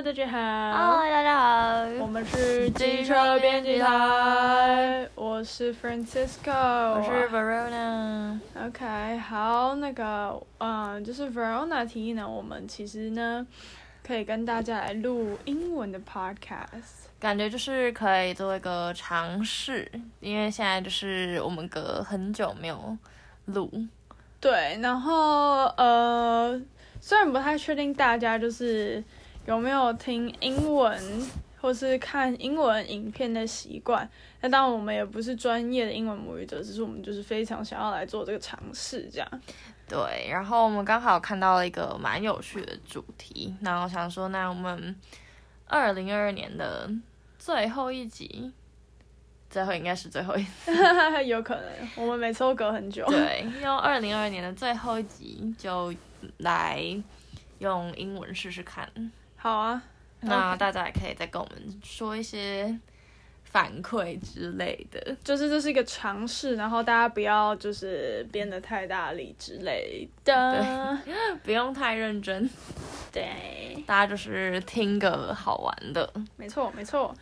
大家好。 Hello，大家好。 我們是機車編輯台，我是 Francisco， 我是 Verona。 OK， 好，就是 Verona 提議呢，我們其實呢可以跟大家來錄英文的 podcast， 感覺就是可以做一個嘗試，因為現在就是我們隔很久沒有錄。 對，然後雖然不太確定大家就是有沒有聽英文或是看英文影片的習慣，那當然我們也不是專業的英文母語者，只是我們就是非常想要來做這個嘗試，這樣。 對，然後我們剛好看到了一個蠻有趣的主題，然後想說，那我們2022年的最後一集。最後應該是最後一集， 有可能我們每次都隔很久。 對，用2022年的最後一集就來用英文試試看。 好啊， 那大家也可以再跟我們說一些反饋之類的。 就是這是一個嘗試，然後大家不要就是編得太大力之類的， 對，不用太認真。 對， 大家就是聽個好玩的。 沒錯沒錯。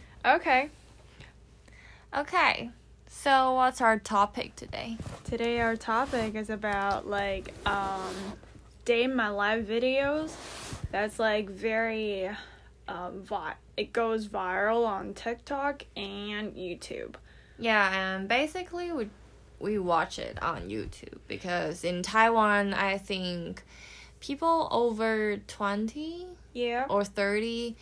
Okay, so what's our topic today? Today our topic is about day in my life videos. That's like very it goes viral on TikTok and YouTube. Yeah, and basically we watch it on YouTube because in Taiwan I think people over 20 or 30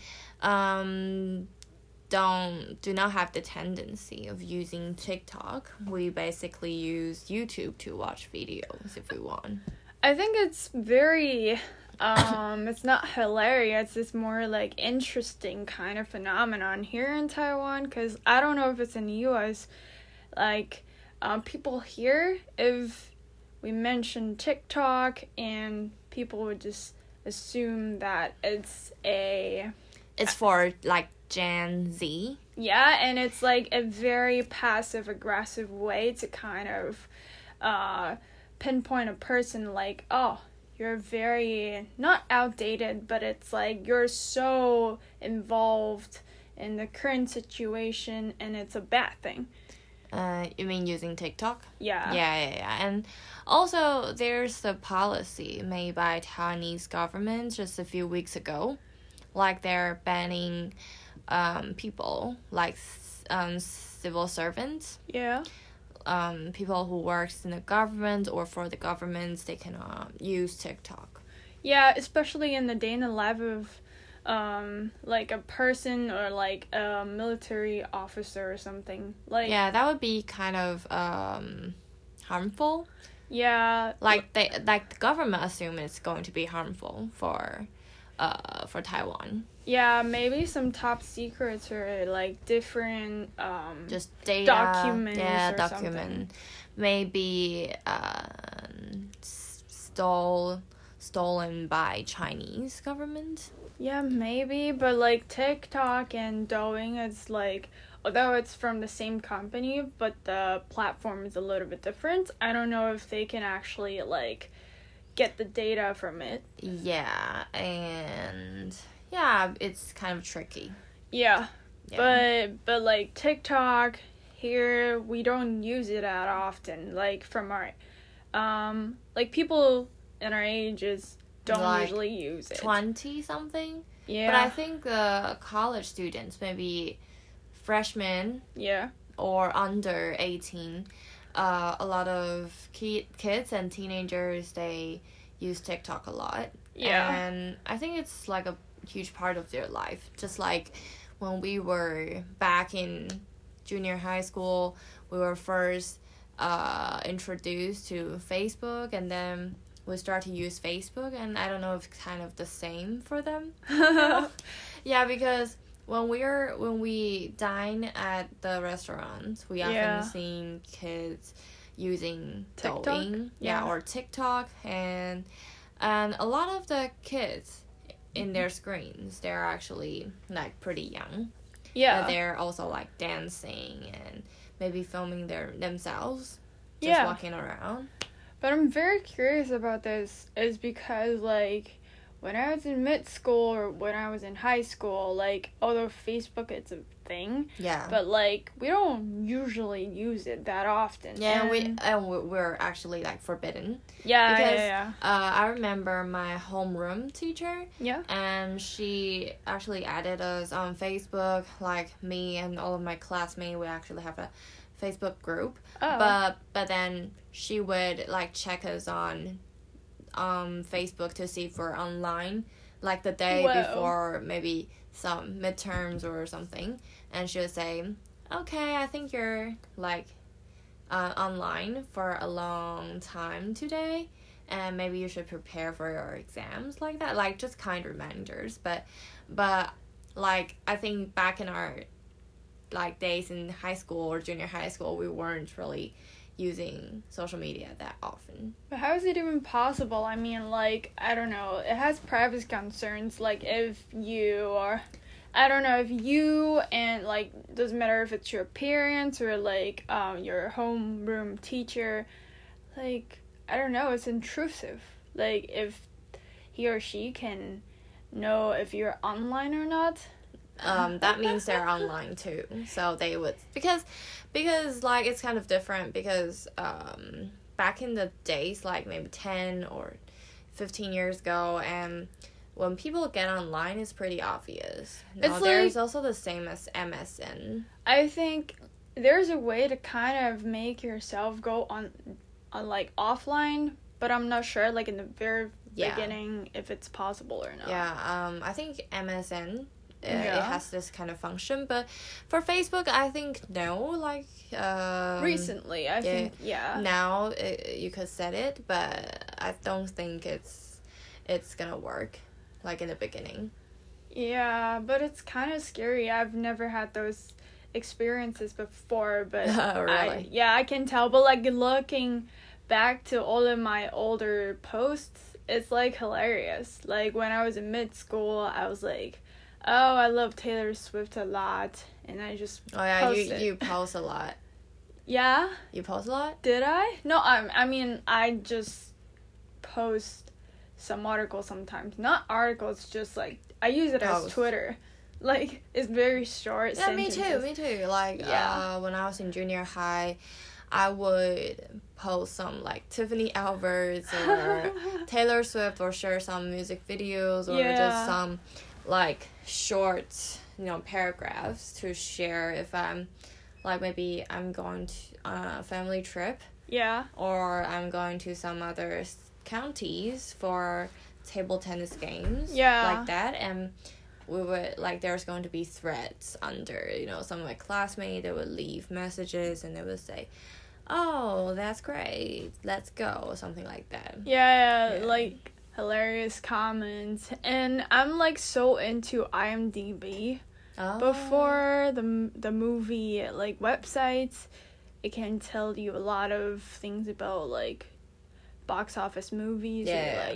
do not have the tendency of using TikTok. We basically use YouTube to watch videos if we want. I think it's very it's not hilarious, it's more like interesting kind of phenomenon here in Taiwan, because I don't know if it's in the US, like people here, if we mention TikTok and people would just assume that it's for like Gen Z. Yeah, and it's like a very passive-aggressive way to kind of pinpoint a person like, oh, you're very, not outdated, but it's like you're so involved in the current situation and it's a bad thing. You mean using TikTok? Yeah. Yeah. And also there's a policy made by Taiwanese government just a few weeks ago. Like they're banning people like civil servants. Yeah. People who works in the government or for the governments, they cannot use TikTok. Yeah, especially in the day in the life of like a person or like a military officer or something. Like, yeah, that would be kind of harmful. Yeah. Like the government assume it's going to be harmful for Taiwan. Yeah, maybe some top secrets or like different just data documents or document something. Maybe stolen by Chinese government. Yeah, maybe, but like TikTok and Douyin, it's like, although it's from the same company, but the platform is a little bit different. I don't know if they can actually like get the data from it. Yeah, and yeah, it's kind of tricky. Yeah. But like TikTok here, we don't use it that often. Like from our like people in our ages don't like usually use it. 20 something. Yeah. But I think college students, maybe freshmen. Yeah. Or under 18. A lot of kids and teenagers, they use TikTok a lot. Yeah. And I think it's like a huge part of their life. Just like when we were back in junior high school, we were first introduced to Facebook, and then we start to use Facebook, and I don't know if it's kind of the same for them. Yeah, because when we dine at the restaurants, we often seen kids using TikTok? Douyin, or TikTok, and a lot of the kids in their screens, they're actually like pretty young. Yeah. But they're also like dancing and maybe filming themselves just walking around. But I'm very curious about this is because like when I was in mid school or when I was in high school, like, although Facebook is a thing, Yeah. but like we don't usually use it that often. Yeah, we're actually like forbidden. Yeah, because, yeah. I remember my homeroom teacher. Yeah. And she actually added us on Facebook, like me and all of my classmates. We actually have a Facebook group. Oh. But then she would like check us on Facebook to see if we're online, like the day before maybe some midterms or something, and she would say, okay, I think you're like online for a long time today, and maybe you should prepare for your exams, like that, like just kind reminders. But like I think back in our like days in high school or junior high school, we weren't really using social media that often. But how is it even possible? I mean, like, I don't know. It has privacy concerns. Like, if you are, I don't know, if you and, like, doesn't matter if it's your parents or, like, your homeroom teacher, like, I don't know, it's intrusive. Like, if he or she can know if you're online or not. That means they're online too. So they would, because like it's kind of different, because back in the days, like maybe 10 or 15 years ago, and when people get online, it's pretty obvious. Now, there's also the same as MSN. I think there's a way to kind of make yourself go on like offline, but I'm not sure, like in the very beginning, if it's possible or not. Yeah, I think MSN, it has this kind of function, but for Facebook, I think no, like recently I think now you could set it, but I don't think it's gonna work like in the beginning. Yeah, but it's kind of scary. I've never had those experiences before, but really? I can tell. But like looking back to all of my older posts, it's like hilarious. Like when I was in mid school, I was like, oh, I love Taylor Swift a lot, and I just post you post a lot. Yeah. You post a lot? Did I? No, I mean I just post some articles sometimes. Not articles, just like I use it as Twitter. Like it's very short. Yeah, sentences. me too. Like when I was in junior high, I would post some like Tiffany Alvarez or Taylor Swift, or share some music videos, or just some like short, paragraphs to share if I'm like maybe I'm going to a family trip. Yeah. Or I'm going to some other counties for table tennis games. Yeah. Like that, and we would like there's going to be threads under, some of my classmates, they would leave messages and they would say, oh, that's great, let's go, or something like that. Yeah, like hilarious comments. And I'm like so into IMDb. Before the movie, like websites, it can tell you a lot of things about like box office movies.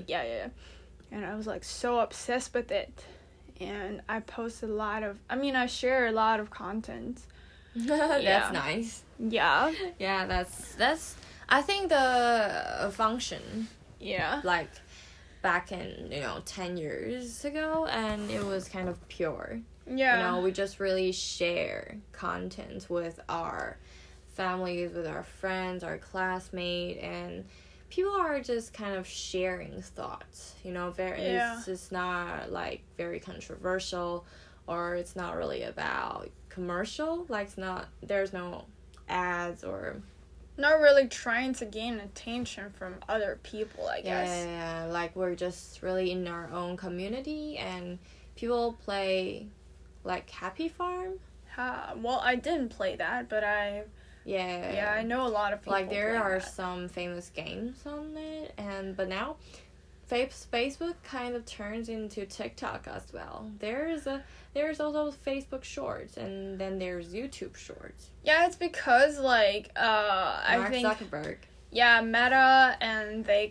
And I was like so obsessed with it, and I post I share a lot of content. That's nice. Yeah. Yeah, that's I think the function. Yeah. Like back in 10 years ago, and it was kind of pure. Yeah. We just really share content with our families, with our friends, our classmates, and people are just kind of sharing thoughts, it's just not like very controversial, or it's not really about commercial, like there's no ads, or not really trying to gain attention from other people, I guess. Yeah, like we're just really in our own community, and people play like Happy Farm. Well, I didn't play that, but I know a lot of people. Like there are some famous games on it, but now Facebook kind of turns into TikTok as well. There's also Facebook Shorts, and then there's YouTube Shorts. Yeah, it's because like Mark Zuckerberg. Yeah, Meta, and they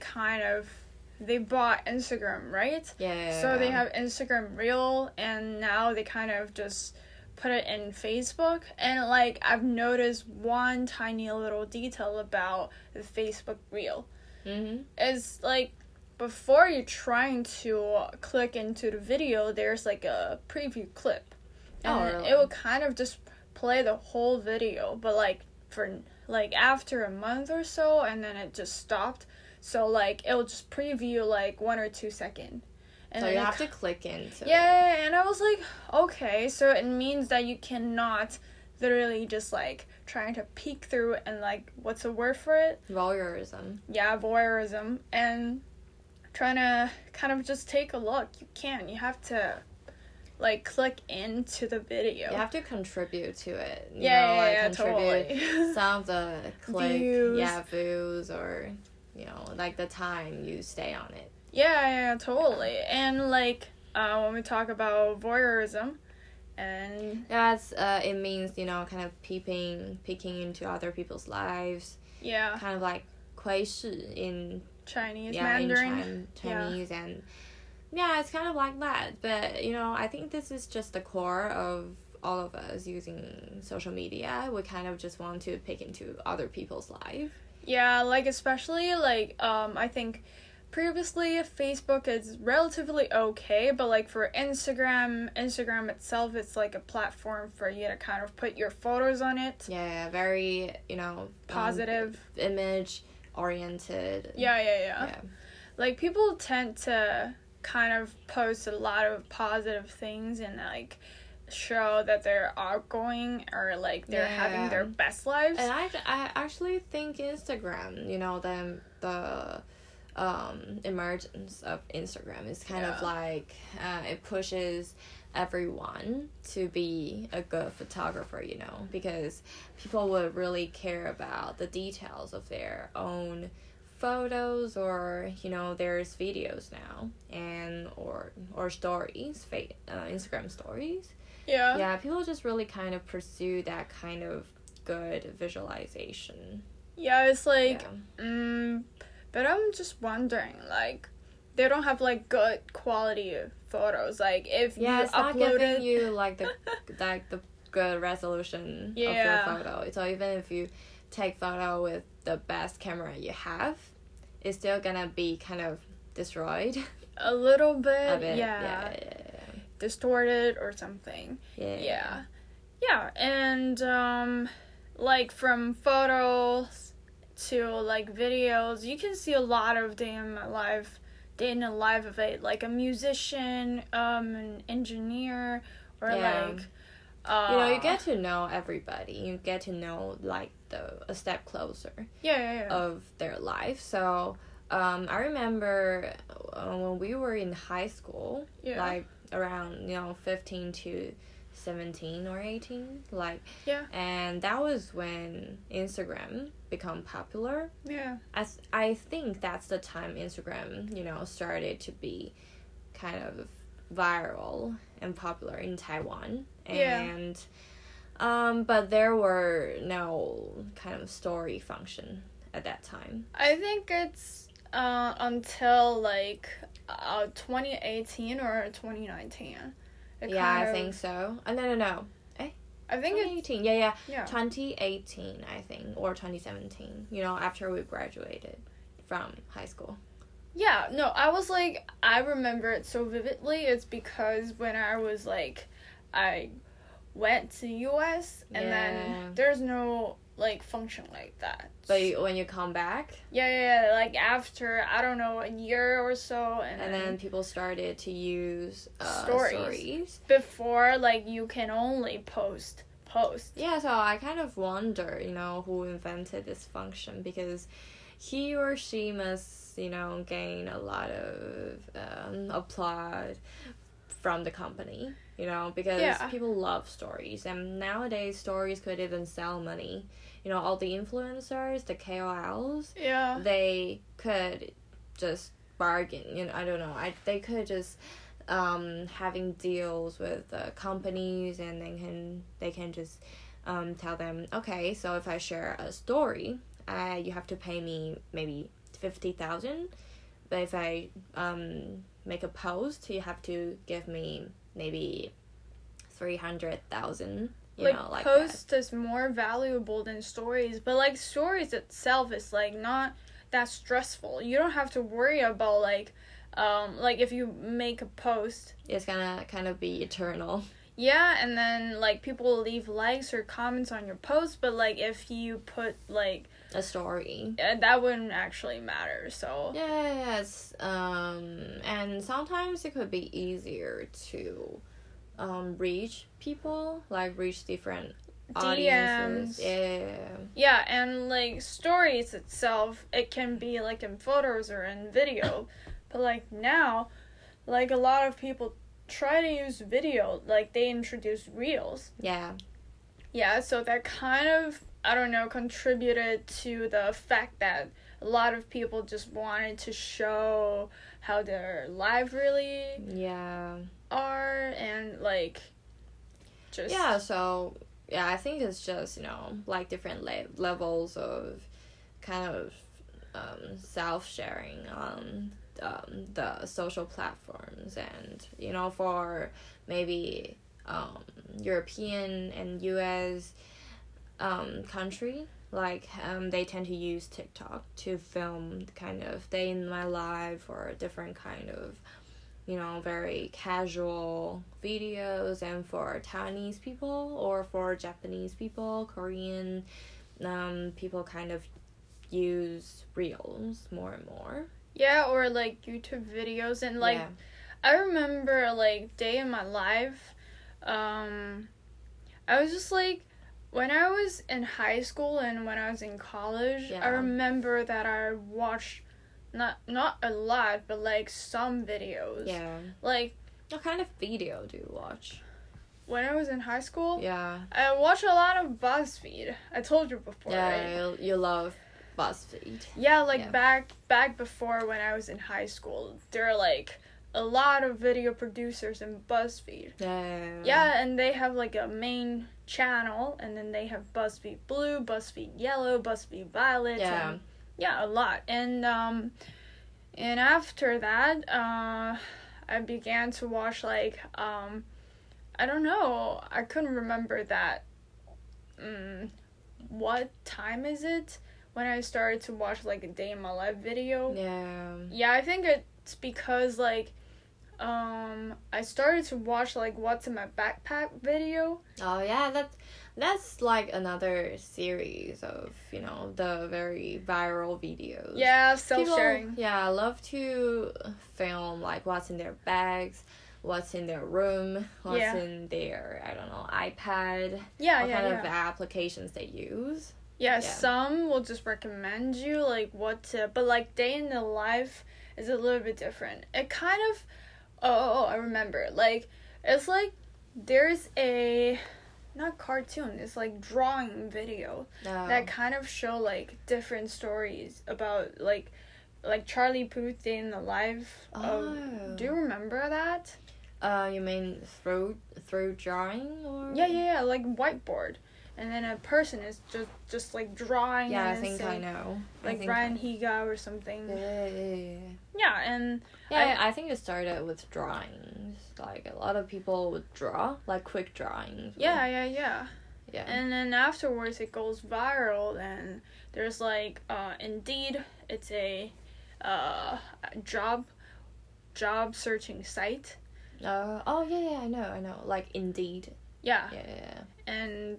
bought Instagram, right? Yeah. So they have Instagram Reel, and now they kind of just put it in Facebook. And like I've noticed one tiny little detail about the Facebook Reel. Mm-hmm. It's like before you're trying to click into the video, there's like a preview clip. And really? it will kind of just play the whole video, but like for like after a month or so, and then it just stopped. So like it will just preview like 1 or 2 seconds. And so you have to click into it. Yeah, and I was like, okay, so it means that you cannot literally just like trying to peek through and like, what's the word for it? Voyeurism. Yeah, voyeurism. And trying to kind of just take a look. You can't. You have to like click into the video. You have to contribute to it. Totally. Some of the Views. views or, like the time you stay on it. Yeah, totally. And like when we talk about voyeurism, and it means kind of peeking into other people's lives. Yeah. Kind of like 窥视 in Chinese, Mandarin. In Chinese, and yeah, it's kind of like that. But I think this is just the core of all of us using social media. We kind of just want to peek into other people's life. Yeah, like especially like I think previously Facebook is relatively okay, but like for Instagram itself, it's like a platform for you to kind of put your photos on it. Yeah, very positive, image oriented. Yeah. Like people tend to kind of post a lot of positive things and like show that they're outgoing or like they're having their best lives. And I actually think Instagram, the emergence of Instagram is kind of like it pushes everyone to be a good photographer, because people would really care about the details of their own photos, or there's videos now and or stories, Instagram stories. Yeah, people just really kind of pursue that kind of good visualization. Yeah, it's like but I'm just wondering, like, they don't have like good quality photos. Like if you it's not uploaded giving you like the good resolution of your photo. So even if you take photo with the best camera you have, it's still gonna be kind of destroyed. A little bit, a bit. Yeah. Distorted or something. Yeah, and like from photos to like videos, you can see a lot of day in the life of it, like a musician, an engineer, or like you get to know everybody. You get to know like a step closer of their life. So I remember when we were in high school, like around 15 to 17 or 18, and that was when Instagram become popular. I think that's the time Instagram started to be kind of viral and popular in Taiwan. And but there were no kind of story function at that time. I think it's until like 2018 or 2019. I think so. No. I think 2018. Yeah. 2018, I think, or 2017. After we graduated from high school. Yeah, no, I remember it so vividly. It's because when I was like, I went to US and then there's no like function like that. But when you come back? Yeah, like after, I don't know, a year or so. And then people started to use stories. Before, like, you can only post. Yeah, so I kind of wonder, who invented this function, because he or she must, gain a lot of applause from the company, because people love stories, and nowadays stories could even sell money. All the influencers, the KOLs, they could just bargain, I don't know, they could just having deals with companies, and they can just tell them, okay, so if I share a story, you have to pay me maybe 50,000, but if I make a post, you have to give me maybe 300,000. Like post is more valuable than stories, but like stories itself is like not that stressful. You don't have to worry about like if you make a post, it's gonna kind of be eternal. Yeah, and then like people will leave likes or comments on your post, but like if you put like a story, that wouldn't actually matter. So yes, and sometimes it could be easier to reach people, like reach different audiences. Yeah, and like stories itself, it can be like in photos or in video, but like now, like a lot of people try to use video, like they introduce reels. Yeah, so that kind of, I don't know, contributed to the fact that a lot of people just wanted to show how their life really are, and like just so I think it's just, you know, like different levels of kind of self-sharing on the social platforms. And, you know, for maybe European and US country, like they tend to use TikTok to film kind of day in my life or different kind of, you know, very casual videos. And for Taiwanese people or for Japanese people, Korean people kind of use reels more and more. Yeah, or like YouTube videos. And like I remember like day in my life, I was just like, when I was in high school and when I was in college, I remember that I watched not a lot, but like some videos. Like, what kind of video do you watch? When I was in high school, I watched a lot of BuzzFeed. I told you before, right? You love BuzzFeed. Yeah, like back before when I was in high school, there are like a lot of video producers in BuzzFeed. Yeah, and they have like a main channel, and then they have BuzzFeed Blue, BuzzFeed Yellow, BuzzFeed Violet. And, a lot. And after that, I began to watch like I don't know, I couldn't remember that. What time is it when I started to watch like a day in my life video? Yeah, I think it's because like I started to watch like what's in my backpack video. Oh yeah, that's like another series of, you know, the very viral videos. Yeah, self-sharing. People, I love to film like what's in their bags, what's in their room, what's in their, I don't know, iPad. What kind of applications they use. Some will just recommend you like what to, but like day in the life is a little bit different. It kind of, I remember, like it's like there's a not cartoon, it's like drawing video that kind of show like different stories about like Charlie Puth Day in the Life. Do you remember that? You mean through drawing or? Yeah, like whiteboard. And then a person is just like drawing. Yeah, I think I know. Like Ryan Higa or something. Yeah, and I think it started with drawings. Like a lot of people would draw, like quick drawings. Yeah. And then afterwards it goes viral, and there's like Indeed. It's a job searching site. I know. Like Indeed. Yeah. And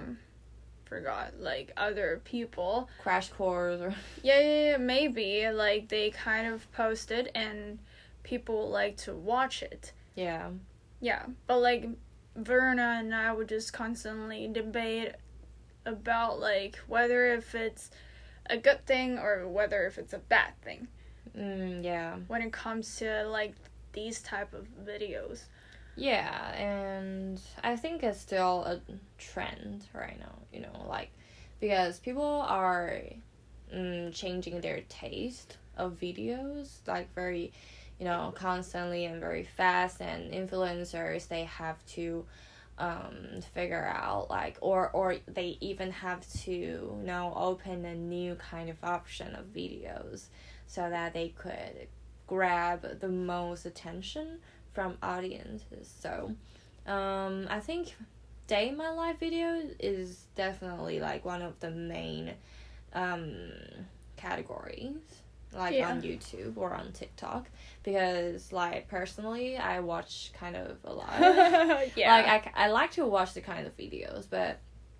forgot like other people. Crash Course or maybe like they kind of posted and people like to watch it. Yeah, but like Verna and I would just constantly debate about like whether if it's a good thing or whether if it's a bad thing. When it comes to like these type of videos. Yeah, and I think it's still a trend right now, you know, like, because people are changing their taste of videos, like, very, you know, constantly and very fast, and influencers, they have to figure out, like, or they even have to, you know, open a new kind of option of videos so that they could grab the most attention from audiences. So I think day in my life video is definitely like one of the main kind categories, like Yeah. on YouTube or on TikTok, because like personally I watch kind of a lot. Yeah. Like I like to watch the kind of videos, but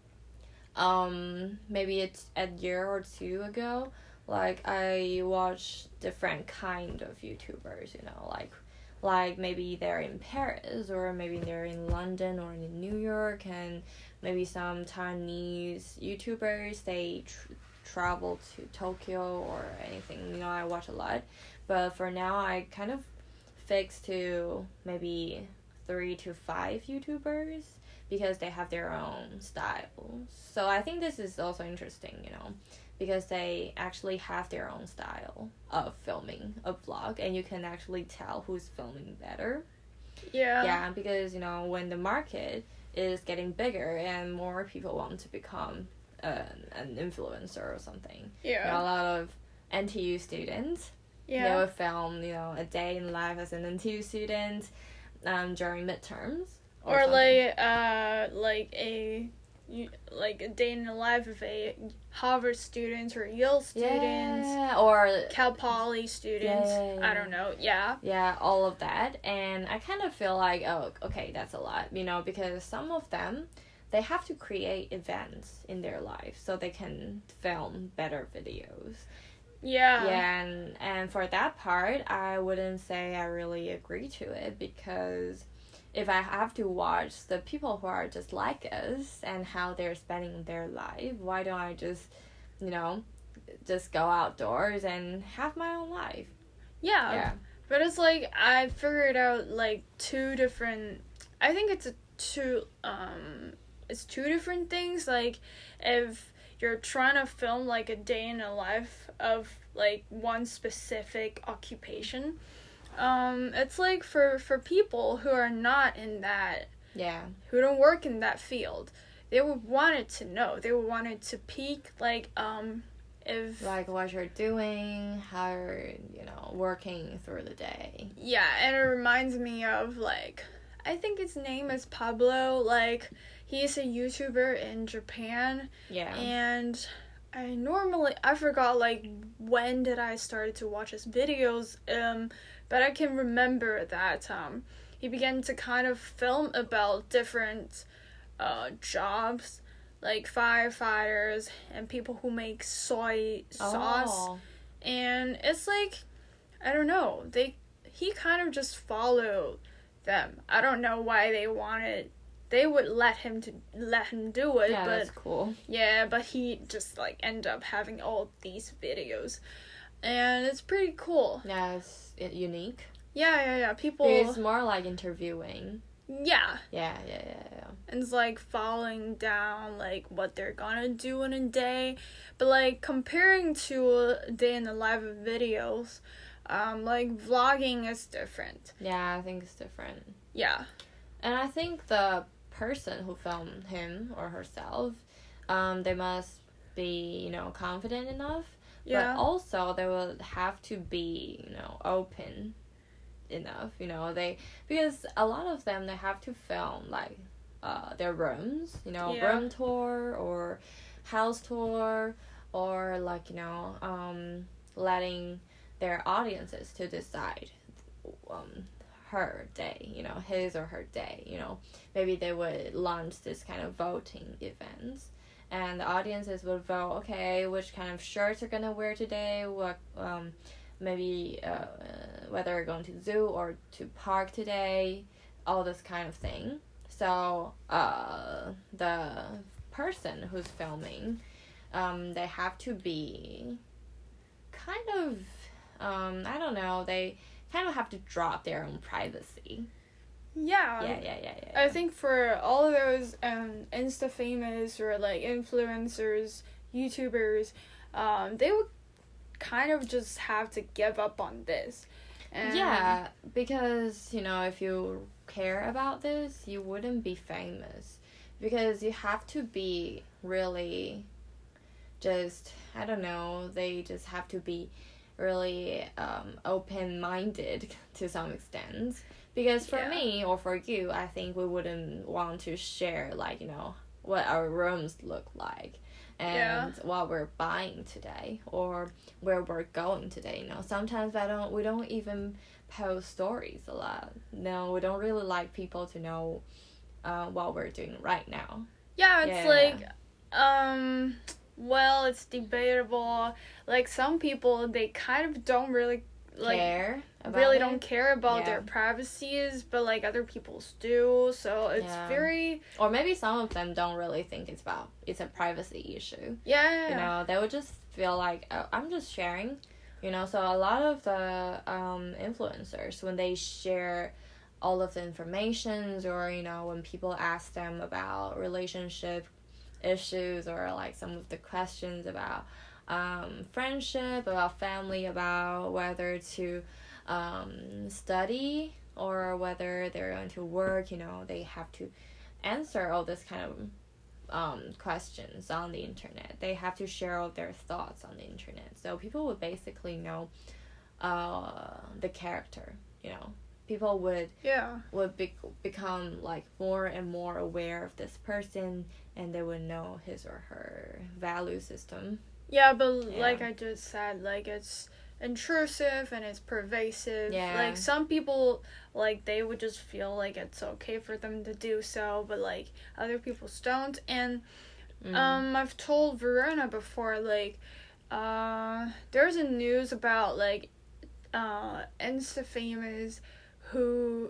maybe it's a year or two ago, like I watched different kind of YouTubers, you know, like maybe they're in Paris, or maybe they're in London or in New York, and maybe some Chinese YouTubers, they travel to Tokyo or anything. You know, I watch a lot. But for now, I kind of fixed to maybe 3 to 5 YouTubers because they have their own styles. So I think this is also interesting, you know, because they actually have their own style of filming a vlog, and you can actually tell who's filming better. Yeah. Yeah, because, you know, when the market is getting bigger and more people want to become an influencer or something. Yeah. You know, a lot of NTU students, they will film, you know, a day in life as an NTU student during midterms. Or something. like a day in the life of a Harvard student or Yale student, Yeah, or Cal Poly student. Yeah. I don't know. Yeah. yeah, all of that. And I kind of feel like, oh, okay, that's a lot, you know, because some of them, they have to create events in their life so they can film better videos. Yeah. Yeah, and for that part, I wouldn't say I really agree to it, because if I have to watch the people who are just like us and how they're spending their life, why don't I just, you know, just go outdoors and have my own life? Yeah. Yeah. But it's like I figured out like two different. I think it's two different things. Like if you're trying to film like a day in the life of like one specific occupation, it's like for people who are not in that, Yeah. who don't work in that field, they would want it to know. They would want it to peak like if Like what you're doing, how you're, you know, working through the day. yeah, and it reminds me of like I think his name is Pablo. Like he's a YouTuber in Japan, Yeah. and I forgot like when did I started to watch his videos. But I can remember that he began to kind of film about different jobs, like firefighters and people who make soy sauce. Oh. And it's like, I don't know, he kind of just followed them. I don't know why they would let him do it, Yeah, but that's cool. yeah, but he just like ended up having all these videos, and it's pretty cool. Yeah, it's unique. Yeah. People. It's more like interviewing. Yeah, Yeah. and it's like following down like what they're gonna do in a day, but like comparing to a day in the life of videos, like vlogging is different. Yeah, I think it's different. Yeah. And I think the person who filmed him or herself, they must be, you know, confident enough. Yeah. But also they will have to be, you know, open enough, you know, because a lot of them, they have to film like their rooms, you know, Yeah. room tour or house tour, or like, you know, letting their audiences to decide her day, you know, his or her day, you know. Maybe they would launch this kind of voting events, and the audiences would vote, okay, which kind of shirts are gonna wear today, what maybe whether they're going to zoo or to park today, all this kind of thing. So the person who's filming, they have to be kind of I don't know, they kind of have to drop their own privacy. Yeah. Yeah. I think for all of those Insta famous or like influencers, YouTubers, they would kind of just have to give up on this. And Yeah, because, you know, if you care about this, you wouldn't be famous. Because you have to be really just, I don't know, they just have to be really open-minded to some extent. Because for Yeah. me or for you, I think we wouldn't want to share, like, you know, what our rooms look like, and what we're buying today, or where we're going today. You know, sometimes we don't even post stories a lot. No, we don't really like people to know what we're doing right now. Yeah, it's well, it's debatable. Like, some people, they kind of don't really don't care about their privacies, but like other people's do, so it's very, or maybe some of them don't really think it's a privacy issue. You know, they would just feel like, oh, I'm just sharing, you know. So a lot of the influencers, when they share all of the informations, or, you know, when people ask them about relationship issues, or like some of the questions about friendship, about family, about whether to study or whether they're going to work, you know, they have to answer all this kind of questions on the internet. They have to share all their thoughts on the internet. So people would basically know the character, you know. People would become like more and more aware of this person, and they would know his or her value system. Yeah, but like I just said, like, it's intrusive and it's pervasive. Yeah. Like, some people, like, they would just feel like it's okay for them to do so, but like other people don't. And I've told Verona before, like, there's a news about like Insta famous who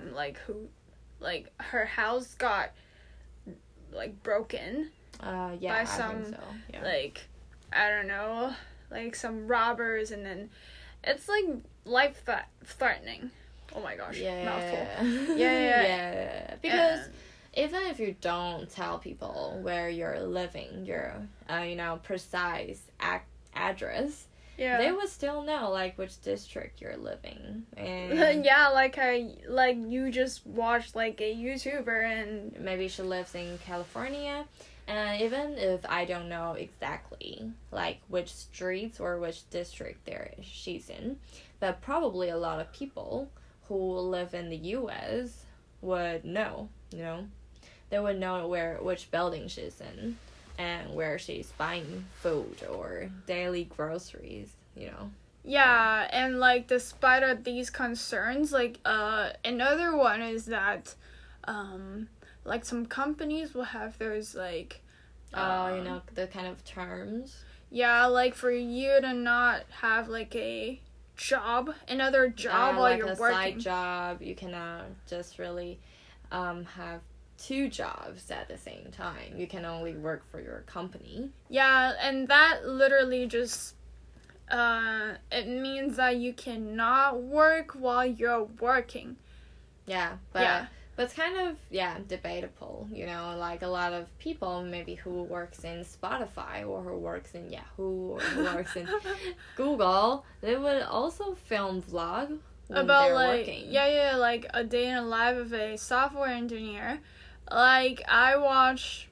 her house got like broken by some, I think so. Yeah. like, I don't know, like some robbers, and then it's like life threatening. Oh my gosh, mouthful. Yeah. Because even if you don't tell people where you're living, your you know, precise address, they would still know like which district you're living. And like you just watched like a YouTuber, and maybe she lives in California. And even if I don't know exactly, like, which streets or which district she's in, but probably a lot of people who live in the U.S. would know, you know? They would know which building she's in and where she's buying food or daily groceries, you know? Yeah, and, like, despite of these concerns, like, another one is that, like, some companies will have those, like, you know, the kind of terms. Yeah, like, for you to not have, like, another job while like you're a working. side job. You cannot just really have two jobs at the same time. You can only work for your company. Yeah, and that literally just it means that you cannot work while you're working. Yeah, but it's kind of debatable, you know, like a lot of people maybe who works in Spotify or who works in Yahoo or who works in Google, they would also film vlog when about they're like working. like a day in the life of a software engineer. Like, I watch,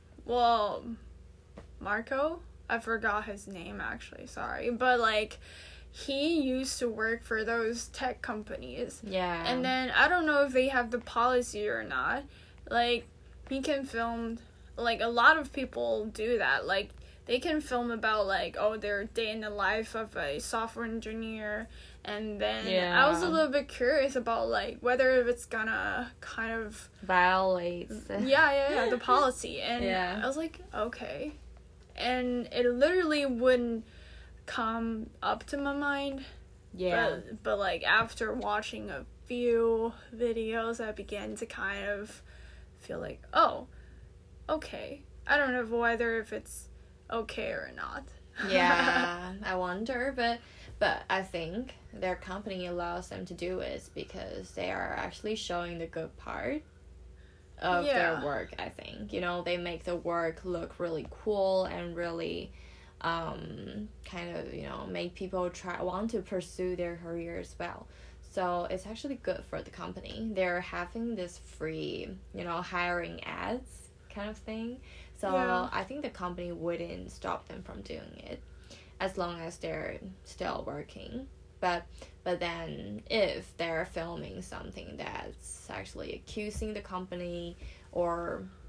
Marco, I forgot his name actually, sorry, but like he used to work for those tech companies. Yeah. And then I don't know if they have the policy or not. Like, he can film, like, a lot of people do that. Like, they can film about, like, their day in the life of a software engineer. And then I was a little bit curious about, like, whether it's gonna kind of violate the policy. And I was like, okay. And it literally wouldn't come up to my mind. But like, after watching a few videos, I began to kind of feel like, oh, okay. I don't know whether if it's okay or not. I wonder, but I think their company allows them to do it because they are actually showing the good part of their work, I think. You know, they make the work look really cool and really kind of, you know, make people want to pursue their career as well. So it's actually good for the company. They're having this free, you know, hiring ads kind of thing. So I think the company wouldn't stop them from doing it as long as they're still working. But then if they're filming something that's actually accusing the company or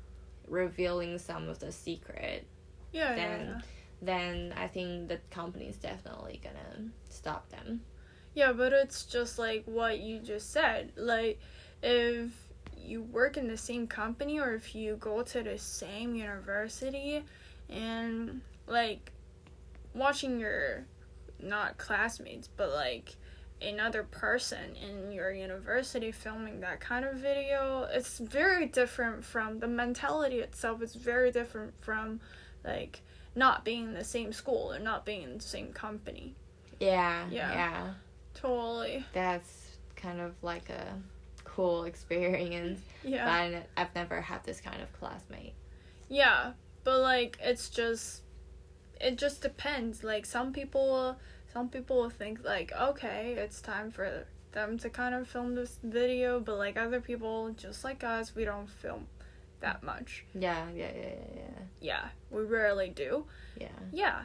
revealing some of the secret, Yeah, then I think the company is definitely gonna stop them. Yeah, but it's just like what you just said. Like, if you work in the same company or if you go to the same university and, like, watching your, not classmates, but, like, another person in your university filming that kind of video, it's very different from the mentality itself. It's very different from, like, not being in the same school or not being in the same company. Yeah. Totally. That's kind of like a cool experience. Yeah. But I've never had this kind of classmate. Yeah, but like it just depends. Like some people will think like, okay, it's time for them to kind of film this video, but like other people, just like us, we don't film that much. Yeah. Yeah, we rarely do. Yeah.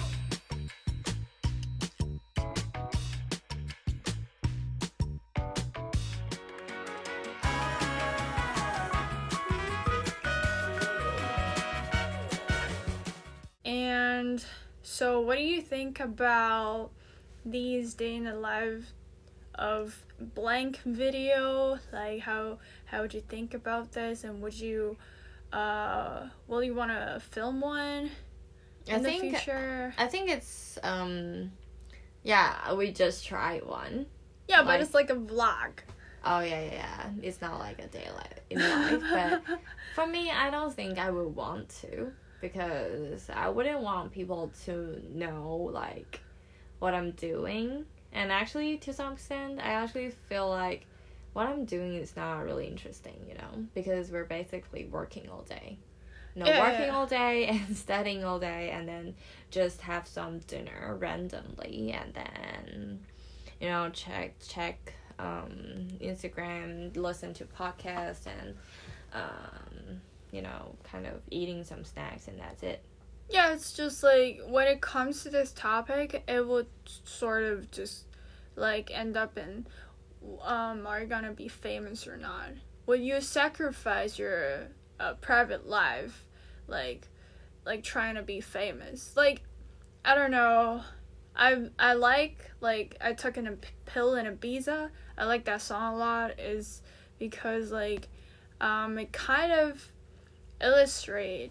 And so what do you think about these day in the life of blank video? Like how would you think about this, and would you will you want to film one in the future? I think it's yeah, we just tried one. Yeah, but it's like a vlog. Oh yeah. It's not like a day in life, but for me, I don't think I would want to, because I wouldn't want people to know like what I'm doing. And actually, to some extent, I actually feel like what I'm doing is not really interesting, you know, because we're basically working all day. Working all day and studying all day, and then just have some dinner randomly, and then, you know, check Instagram, listen to podcasts, and you know, kind of eating some snacks, and that's it. Yeah, it's just like when it comes to this topic, it would sort of just like end up in are you gonna be famous or not? Will you sacrifice your private life like trying to be famous? Like, I don't know. I like I took a pill in Ibiza. I like that song a lot, is because like it kind of illustrated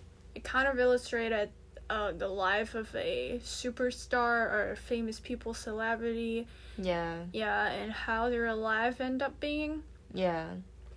the life of a superstar or a famous people, celebrity. Yeah, and how their life end up being. Yeah.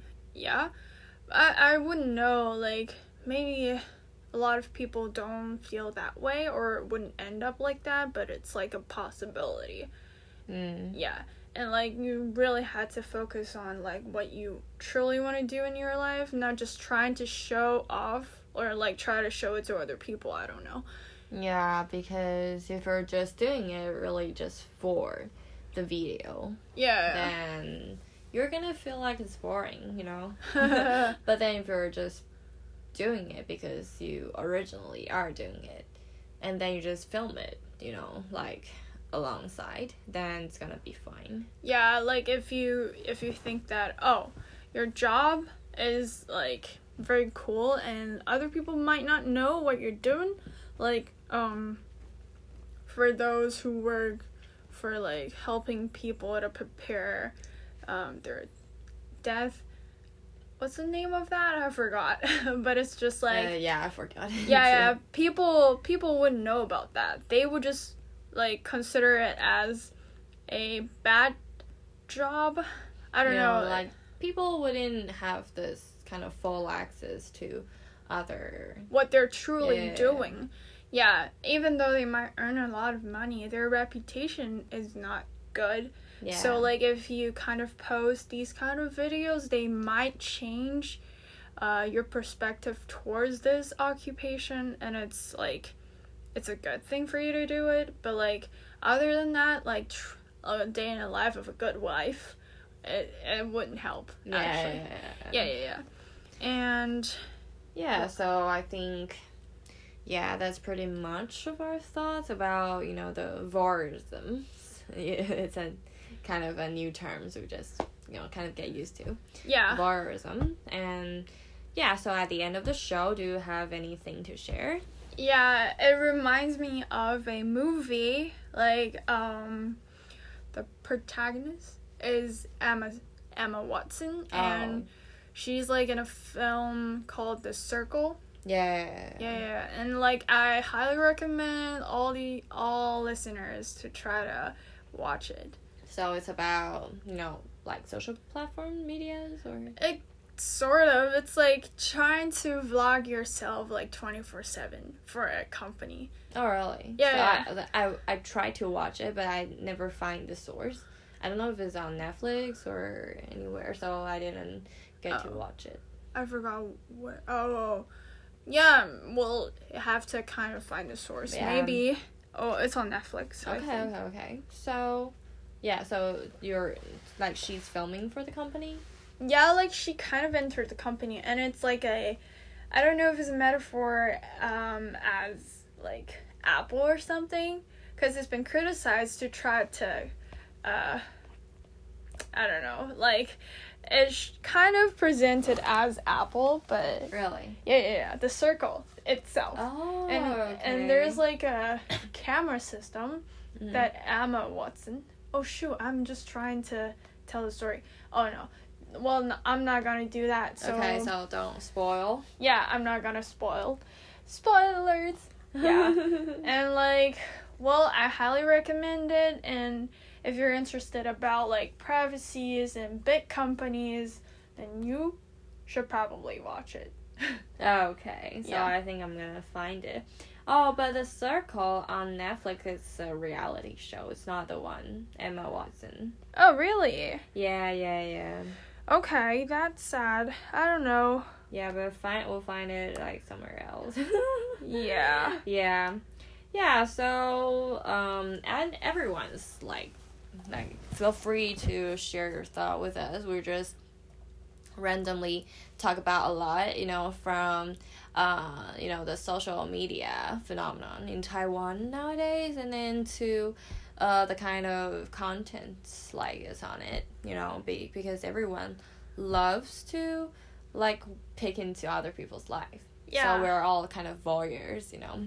I wouldn't know, like, maybe a lot of people don't feel that way or wouldn't end up like that, but it's like a possibility. Yeah, and like you really had to focus on like what you truly want to do in your life, not just trying to show off or like try to show it to other people. I don't know. Yeah, because if you're just doing it really just for the video, then you're gonna feel like it's boring, you know. But then if you're just doing it because you originally are doing it, and then you just film it, you know, like alongside, then it's gonna be fine. Yeah, like if you think that, oh, your job is like very cool and other people might not know what you're doing, like for those who work for like helping people to prepare their death, what's the name of that? I forgot. But it's just like I forgot. people wouldn't know about that. They would just like consider it as a bad job. I don't know, like people wouldn't have this kind of full access to what they're truly doing. Yeah, even though they might earn a lot of money, their reputation is not good. Yeah. So, like, if you kind of post these kind of videos, they might change your perspective towards this occupation, and it's, like, it's a good thing for you to do it. But, like, other than that, like, a day in the life of a good wife, it wouldn't help, actually. Yeah. And... yeah, so I think... yeah, that's pretty much of our thoughts about, you know, the voyeurism. It's a kind of a new term, so we just, you know, kind of get used to. Yeah. Voyeurism. And yeah, so at the end of the show, do you have anything to share? Yeah, it reminds me of a movie. Like, the protagonist is Emma Watson, and she's like in a film called The Circle. Yeah, and like I highly recommend all listeners to try to watch it. So it's about, like social platform medias, or It sort of. It's like trying to vlog yourself like 24/7 for a company. oh really? Yeah. So I tried to watch it, but I never find the source. I don't know if it's on Netflix or anywhere, so I didn't get to watch it. I forgot what. Oh, yeah. Well, you have to kind of find the source. Yeah. Maybe. Oh, it's on Netflix. I think. Okay. So, yeah. So you're like she's filming for the company. Yeah, like she kind of entered the company, and it's like I don't know if it's a metaphor as like Apple or something, because it's been criticized to try to I don't know, like it's kind of presented as Apple, but Really? yeah, the circle itself. Oh, and there's like a camera system Mm-hmm. that Emma Watson. Oh shoot, I'm just trying to tell the story. Oh no. Well, no, I'm not gonna do that. So okay, so don't spoil. yeah, I'm not gonna spoilers. Yeah, and like, well, I highly recommend it. And if you're interested about like privacies and big companies, then you should probably watch it. Okay, so Yeah. I think I'm gonna find it. Oh, but The Circle on Netflix is a reality show. It's not the one Emma Watson. Oh really? Yeah. Okay, that's sad. I don't know. Yeah, but we'll find it like somewhere else. Yeah. Yeah. So and everyone's like feel free to share your thought with us. We're just randomly talk about a lot, from the social media phenomenon in Taiwan nowadays, and then to the kind of content like is on it, because everyone loves to like pick into other people's life. Yeah. So we're all kind of voyeurs,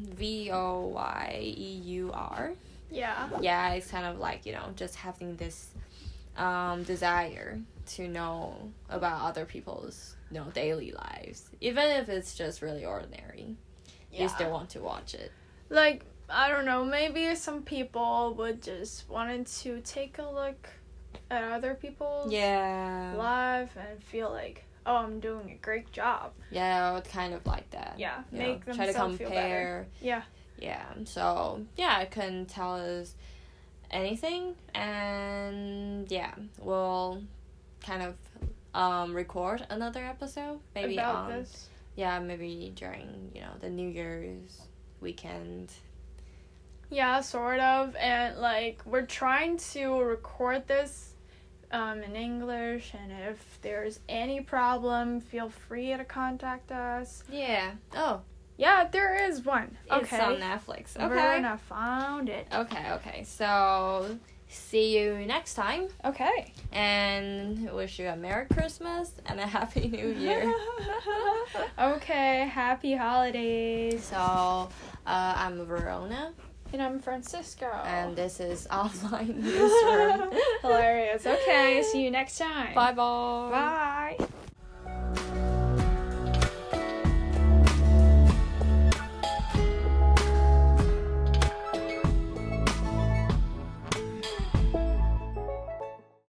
voyeur. Yeah. Yeah, it's kind of like, just having this desire to know about other people's, daily lives. Even if it's just really ordinary. Yeah. You still want to watch it. Like, I don't know, maybe some people would just wanted to take a look at other people's life and feel like, oh, I'm doing a great job. Yeah, kind of like that. Yeah, Make them try to compare. feel better. Yeah. Yeah, so, it can tell us anything, and, we'll kind of record another episode, maybe about this. Yeah, maybe during, the New Year's weekend. Yeah, sort of, and, like, we're trying to record this in English, and if there's any problem, feel free to contact us. Yeah. Oh. Yeah, there is one. Okay. It's on Netflix. Okay. We're gonna find it. Okay. So, see you next time. Okay. And wish you a Merry Christmas and a Happy New Year. Okay, happy holidays. So, I'm Verona. And I'm Francisco. And this is Offline Newsroom. Hilarious. Okay, see you next time. Bye-bye. Bye.